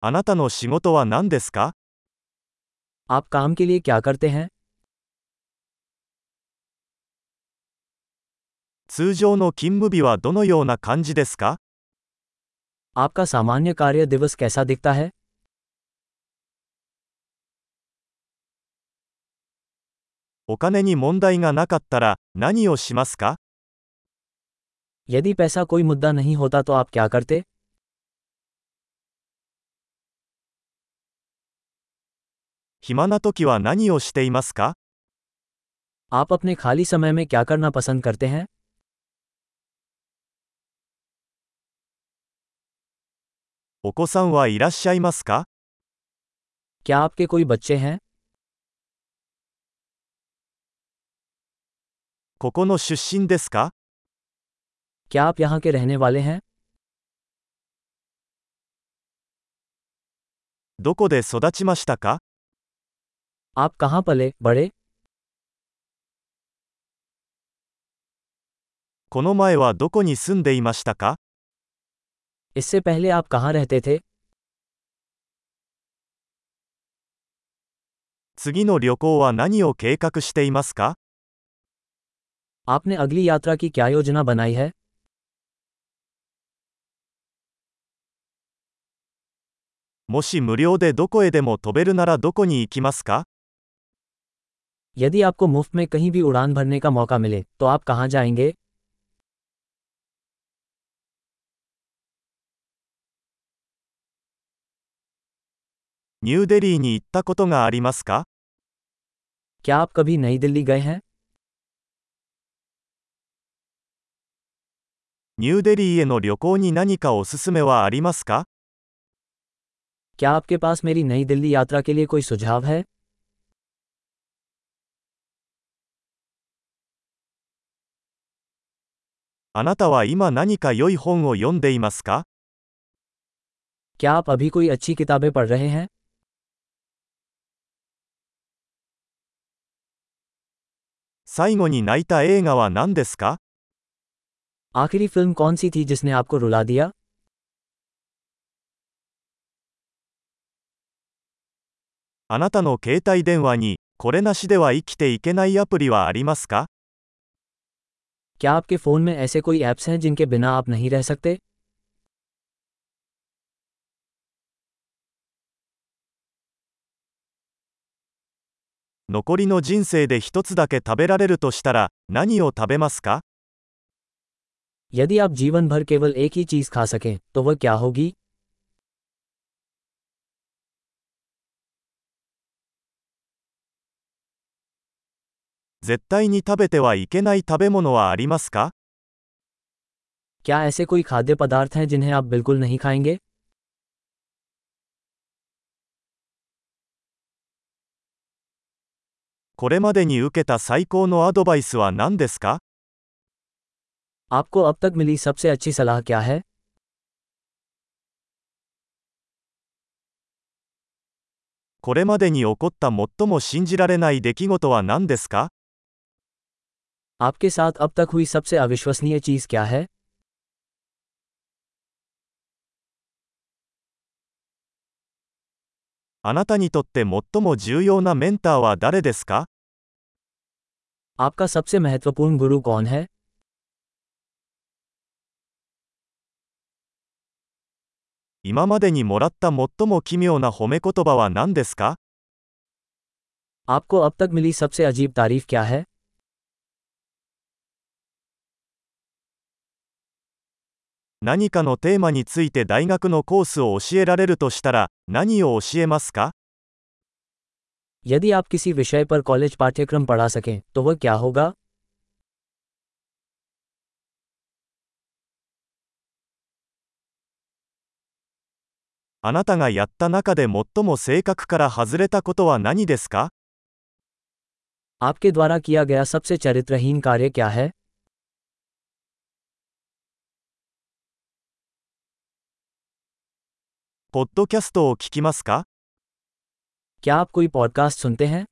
あなたの仕事は何ですか？ आप काम के लिए क्या करते हैं? 通常の勤務日はどのような感じですか？ आपका सामान्य कार्य दिवस कैसा दिखता है? お金に問題がなかったら何をしますか？ यदि पैसा कोई मुद्दा नहीं होता तो आप क्या करते? 暇な時は何をしていますか？ आप अपने खाली समय में क्या करना पसंद करते हैं? お子さんはいらっしゃいますか？ क्या आपके कोई बच्चे हैं? ここの出身ですか？ क्या आप यहाँ के रहने वाले हैं? どこで育ちましたか？ आप कहाँ पले बड़े? この前はどこに住んでいましたか？ इससे पहले आप कहाँ रहते थे? 次の旅行は何を計画していますか？ आपने अगली यात्रा की क्या योजना बनाई है? もし無料でどこへでも飛べるならどこに行きますか？ यदि आपको मुफ्त में कहीं भी उड़ान भरने का मौका मिले, तो आप कहाँ जाएंगे? ニューデリーに行ったことがありますか？ क्या आप कभी नई दिल्ली गए हैं? ニューデリーへの旅行に何かおすすめはありますか？ क्या आपके पास मेरी नई दिल्ली यात्रा के लिए कोई सुझाव है? あなたは今何か良い本を読んでいますか？ क्या आप अभी कोई अच्छी किताबें पढ़ रहे हैं? 最後に泣いた映画は何ですか？ आखिरी फिल्म कौन सी थी जिसने आपको रुला दिया? あなたの携帯電話にこれなしでは生きていけないアプリはありますか？ क्या आपके फ़ोन में ऐसे कोई ऐप्स हैं जिनके बिना आप नहीं रह सकते? 残りの人生で一つだけ食べられるとしたら何を食べますか？ यदि आप जीवन भर केवल एक ही चीज़ खा सकें, तो वह क्या होगी? 絶対に食べてはいけない食べ物はありますか？ क्या ऐसे कोई खाद्य पदार्थ हैं जिन्हें आप बिल्कुल नहीं खाएंगे? これまでに受けた最高のアドバイスは何ですか？ आपको अब तक मिली सबसे अच्छी सलाह क्या है? これまでに起こった最も信じられない出来事は何ですか？ आपके साथ अब तक हुई सबसे अविश्वसनीय चीज़ क्या है? あなたにとって最も重要なメンターは誰ですか？ आपका सबसे महत्वपूर्ण गुरु कौन है? 今までにもらった最も奇妙な褒め言葉は何ですか？ आपको अब तक मिली सबसे अजीब तारीफ क्या है? 何かのテーマについて大学のコースを教えられるとしたら何を教えますか？ यदि आप किसी विषय पर कॉलेज पाठ्यक्रम पढ़ा सकें, तो वह क्या होगा? あなたがやった中で最も性格から外れたことは何ですか？ आपके द्वारा किया गया सबसे चरित्रहीन कार्य क्या है? ポッドキャストを聞きますか？ क्या आप कोई पॉडकास्ट सुनते हैं?